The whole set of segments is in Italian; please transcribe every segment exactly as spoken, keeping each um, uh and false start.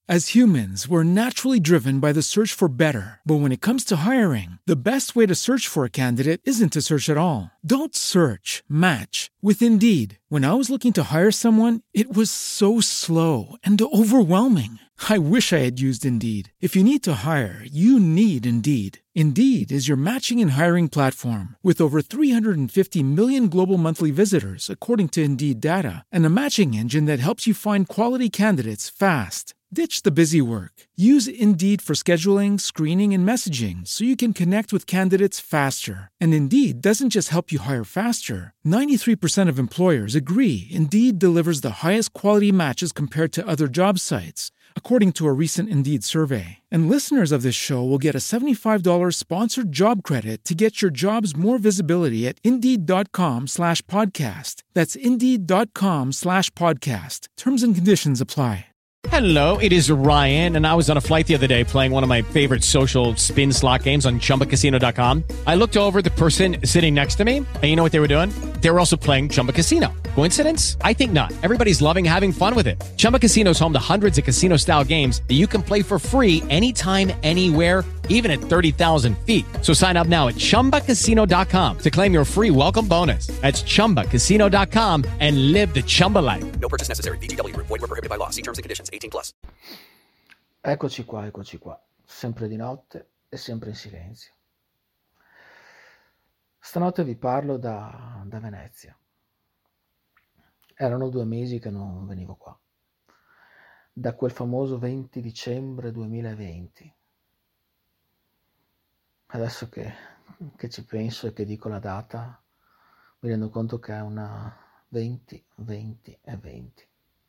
As humans, we're naturally driven by the search for better. But when it comes to hiring, the best way to search for a candidate isn't to search at all. Don't search, match with Indeed. When I was looking to hire someone, it was so slow and overwhelming. I wish I had used Indeed. If you need to hire, you need Indeed. Indeed is your matching and hiring platform with over three hundred fifty million global monthly visitors, according to Indeed data, and a matching engine that helps you find quality candidates fast. Ditch the busy work. Use Indeed for scheduling, screening, and messaging so you can connect with candidates faster. And Indeed doesn't just help you hire faster. ninety-three percent of employers agree Indeed delivers the highest quality matches compared to other job sites, according to a recent Indeed survey. And listeners of this show will get a seventy-five dollars sponsored job credit to get your jobs more visibility at Indeed.com slash podcast. That's Indeed.com slash podcast. Terms and conditions apply. Hello, it is Ryan, and I was on a flight the other day playing one of my favorite social spin slot games on Chumba Casino dot com. I looked over at the person sitting next to me, and you know what they were doing? They were also playing Chumba Casino. Coincidence? I think not. Everybody's loving having fun with it. Chumba Casino is home to hundreds of casino-style games that you can play for free anytime, anywhere, even at thirty thousand feet. So sign up now at Chumba Casino dot com to claim your free welcome bonus. That's Chumba Casino dot com and live the Chumba life. No purchase necessary. V G W. Void where prohibited by law. See terms and conditions. eighteen plus. Eccoci qua, eccoci qua. Sempre di notte e sempre in silenzio. Stanotte vi parlo da, da Venezia. Erano due mesi che non venivo qua. Da quel famoso venti dicembre duemilaventi. Adesso che, che ci penso e che dico la data, mi rendo conto che è una venti, venti e venti.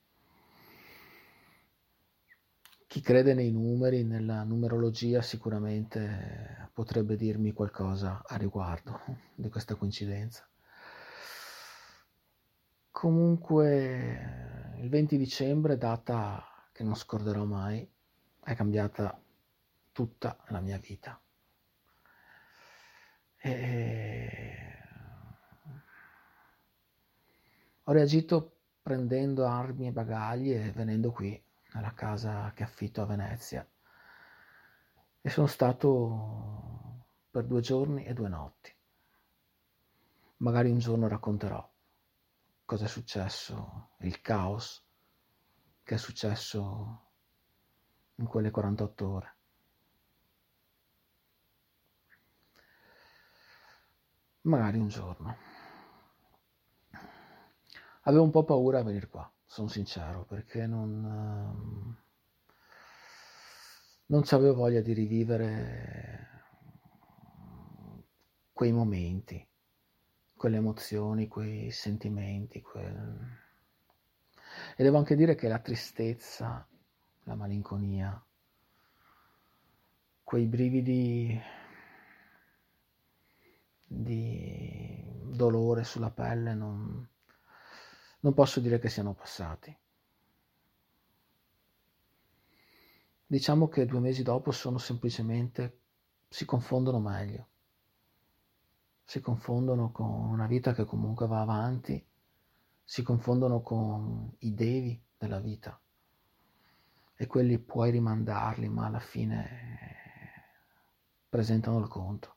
Chi crede nei numeri, nella numerologia, sicuramente potrebbe dirmi qualcosa a riguardo di questa coincidenza. Comunque, il venti dicembre, data che non scorderò mai, è cambiata tutta la mia vita. E ho reagito prendendo armi e bagagli e venendo qui nella casa che affitto a Venezia, e sono stato per due giorni e due notti. Magari un giorno racconterò cosa è successo, il caos che è successo in quelle quarantotto ore. Magari un giorno. Avevo un po' paura a venire qua, sono sincero, perché non, non avevo voglia di rivivere quei momenti, quelle emozioni, quei sentimenti. Quel... E devo anche dire che la tristezza, la malinconia, quei brividi di dolore sulla pelle non... non posso dire che siano passati. Diciamo che due mesi dopo sono semplicemente, si confondono meglio. Si confondono con una vita che comunque va avanti, si confondono con i devi della vita. E quelli puoi rimandarli, ma alla fine presentano il conto.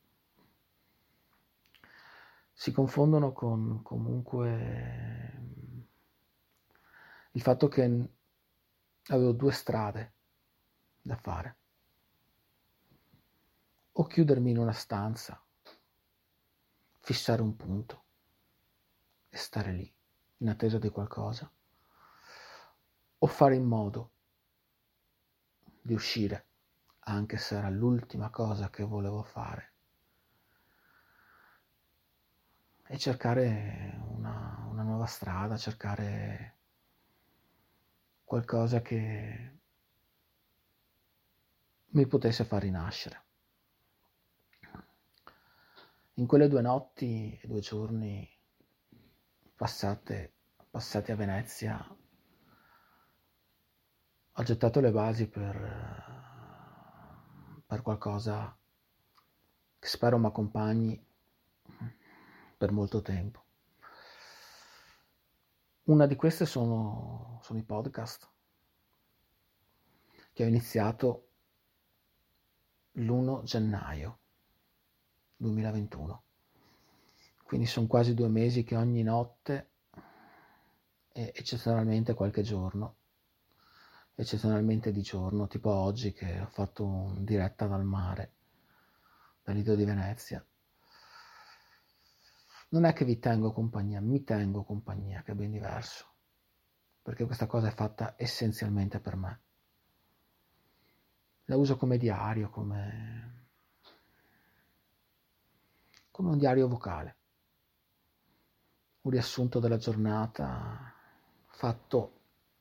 Si confondono con comunque il fatto che avevo due strade da fare. O chiudermi in una stanza, fissare un punto e stare lì in attesa di qualcosa, o fare in modo di uscire, anche se era l'ultima cosa che volevo fare, e cercare una, una nuova strada, cercare qualcosa che mi potesse far rinascere. In quelle due notti e due giorni passate, passati a Venezia, ho gettato le basi per, per qualcosa che spero mi accompagni per molto tempo. Una di queste sono, sono i podcast. che ho iniziato l'primo gennaio duemilaventuno. Quindi sono quasi due mesi che ogni notte e eccezionalmente qualche giorno, eccezionalmente di giorno, tipo oggi che ho fatto un diretta dal mare, dal Lido di Venezia. Non è che vi tengo compagnia, mi tengo compagnia, che è ben diverso, perché questa cosa è fatta essenzialmente per me. La uso come diario, come, come un diario vocale, un riassunto della giornata fatto,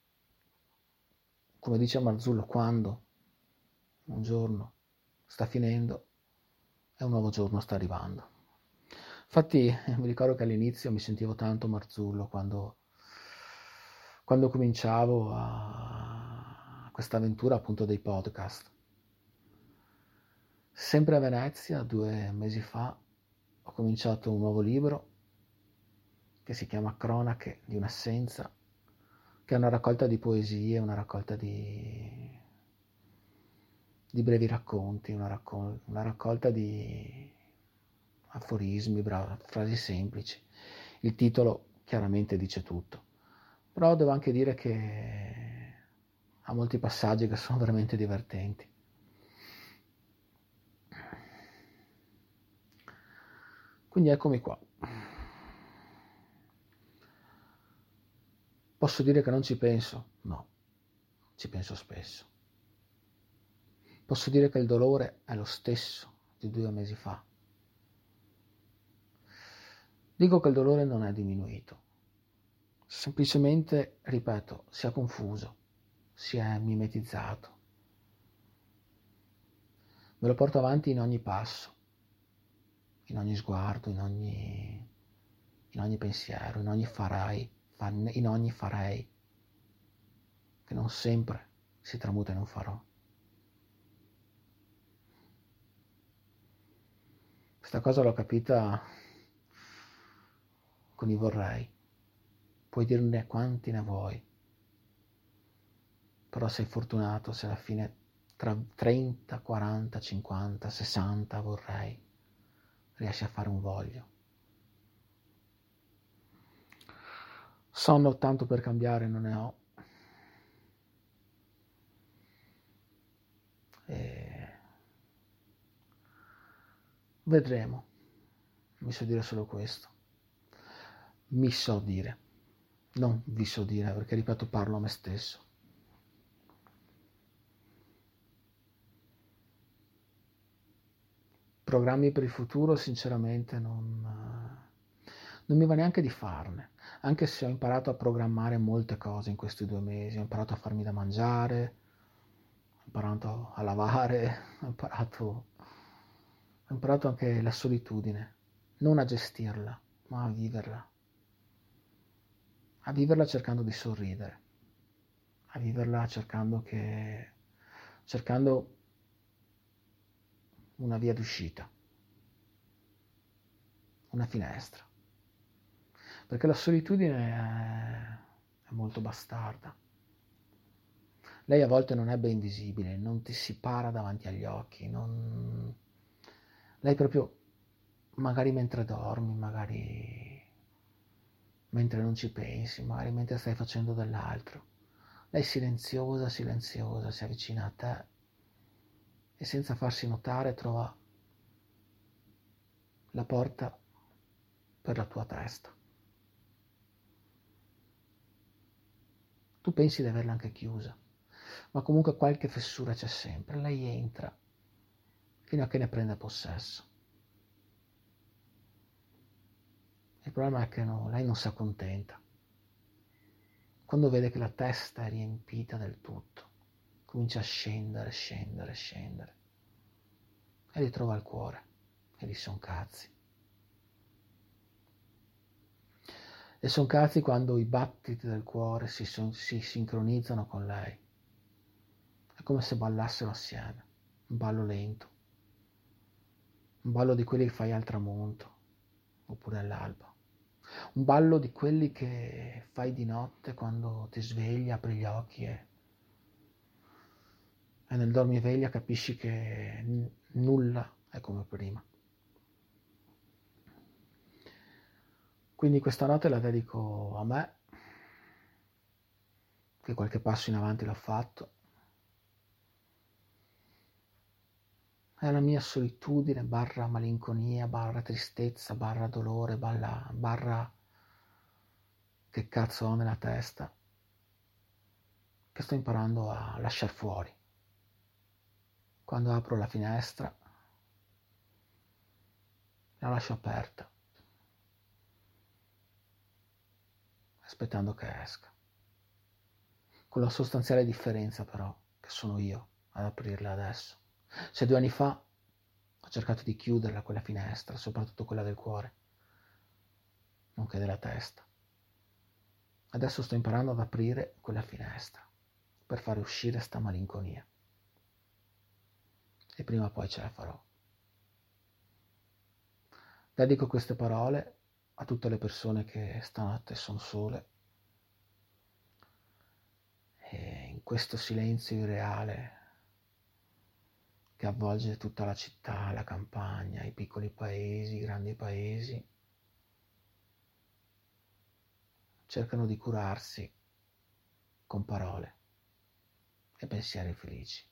come dice Marzullo, quando un giorno sta finendo e un nuovo giorno sta arrivando. Infatti mi ricordo che all'inizio mi sentivo tanto Marzullo quando, quando cominciavo a questa avventura appunto dei podcast. Sempre a Venezia, due mesi fa, ho cominciato un nuovo libro che si chiama Cronache di un'assenza, che è una raccolta di poesie, una raccolta di, di brevi racconti, una, raccol- una raccolta di aforismi, bra- frasi semplici. Il titolo chiaramente dice tutto, però devo anche dire che ha molti passaggi che sono veramente divertenti. Quindi eccomi qua. Posso dire che non ci penso? No, ci penso spesso. Posso dire che il dolore è lo stesso di due mesi fa. Dico che il dolore non è diminuito. Semplicemente, ripeto, si è confuso, si è mimetizzato. Me lo porto avanti in ogni passo, in ogni sguardo, in ogni, in ogni pensiero, in ogni farai, in ogni farei, che non sempre si tramuta in un farò. Questa cosa l'ho capita con i vorrei. Puoi dirne quanti ne vuoi, però sei fortunato se alla fine tra trenta, quaranta, cinquanta, sessanta vorrei riesci a fare un voglio. Sonno tanto per cambiare non ne ho. E vedremo. Mi so dire solo questo. Mi so dire. Non vi so dire, perché ripeto, parlo a me stesso. Programmi per il futuro, sinceramente, non, non mi va neanche di farne. Anche se ho imparato a programmare molte cose in questi due mesi. Ho imparato a farmi da mangiare, ho imparato a lavare, ho imparato, ho imparato anche la solitudine. Non a gestirla, ma a viverla. A viverla cercando di sorridere, a viverla cercando che, cercando una via d'uscita, una finestra, perché la solitudine è, è molto bastarda. Lei a volte non è ben visibile, non ti si para davanti agli occhi, non... lei proprio, magari mentre dormi, magari mentre non ci pensi, magari mentre stai facendo dell'altro. Lei silenziosa, silenziosa, si avvicina a te e senza farsi notare trova la porta per la tua testa. Tu pensi di averla anche chiusa, ma comunque qualche fessura c'è sempre. Lei entra fino a che ne prende possesso. Il problema è che no, lei non si accontenta. Quando vede che la testa è riempita del tutto, comincia a scendere, scendere, scendere. E ritrova il cuore. E lì son cazzi. E son cazzi quando i battiti del cuore si, son, si sincronizzano con lei. È come se ballassero assieme. Un ballo lento. Un ballo di quelli che fai al tramonto. Oppure all'alba. Un ballo di quelli che fai di notte quando ti svegli, apri gli occhi e e nel dormiveglia capisci che n- nulla è come prima. Quindi questa notte la dedico a me, che qualche passo in avanti l'ho fatto, è la mia solitudine barra malinconia, barra tristezza, barra dolore, barra, barra che cazzo ho nella testa, che sto imparando a lasciar fuori. Quando apro la finestra, la lascio aperta, aspettando che esca. Con la sostanziale differenza però che sono io ad aprirla adesso. Se due anni fa ho cercato di chiuderla quella finestra, soprattutto quella del cuore, nonché della testa, adesso sto imparando ad aprire quella finestra per fare uscire sta malinconia. E prima o poi ce la farò. Dedico queste parole a tutte le persone che stanotte sono sole e in questo silenzio irreale che avvolge tutta la città, la campagna, i piccoli paesi, i grandi paesi, cercano di curarsi con parole e pensieri felici.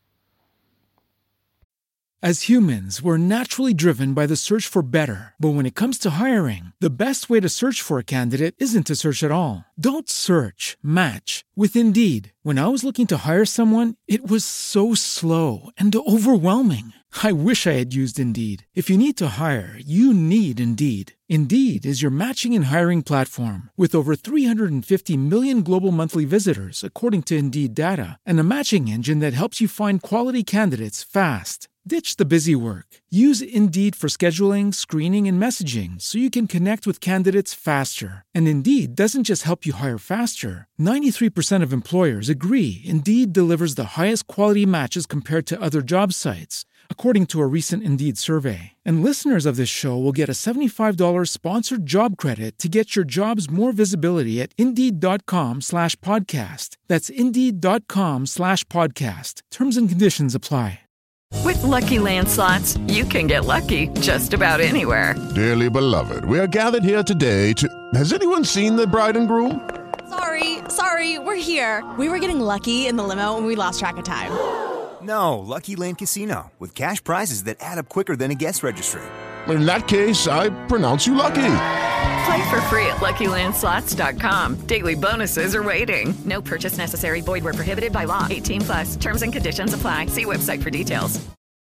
As humans, we're naturally driven by the search for better. But when it comes to hiring, the best way to search for a candidate isn't to search at all. Don't search, match with Indeed. When I was looking to hire someone, it was so slow and overwhelming. I wish I had used Indeed. If you need to hire, you need Indeed. Indeed is your matching and hiring platform with over three hundred fifty million global monthly visitors, according to Indeed data, and a matching engine that helps you find quality candidates fast. Ditch the busy work. Use Indeed for scheduling, screening, and messaging so you can connect with candidates faster. And Indeed doesn't just help you hire faster. ninety-three percent of employers agree Indeed delivers the highest quality matches compared to other job sites, according to a recent Indeed survey. And listeners of this show will get a seventy-five dollars sponsored job credit to get your jobs more visibility at Indeed.com slash podcast. That's Indeed.com slash podcast. Terms and conditions apply. With Lucky Land Slots, you can get lucky just about anywhere. Dearly beloved, we are gathered here today to... Has anyone seen the bride and groom? Sorry, sorry, we're here. We were getting lucky in the limo and we lost track of time. No, Lucky Land Casino, with cash prizes that add up quicker than a guest registry. In that case, I pronounce you lucky. Play for free at Lucky Land Slots dot com. Daily bonuses are waiting. No purchase necessary. Void where prohibited by law. eighteen plus. Terms and conditions apply. See website for details.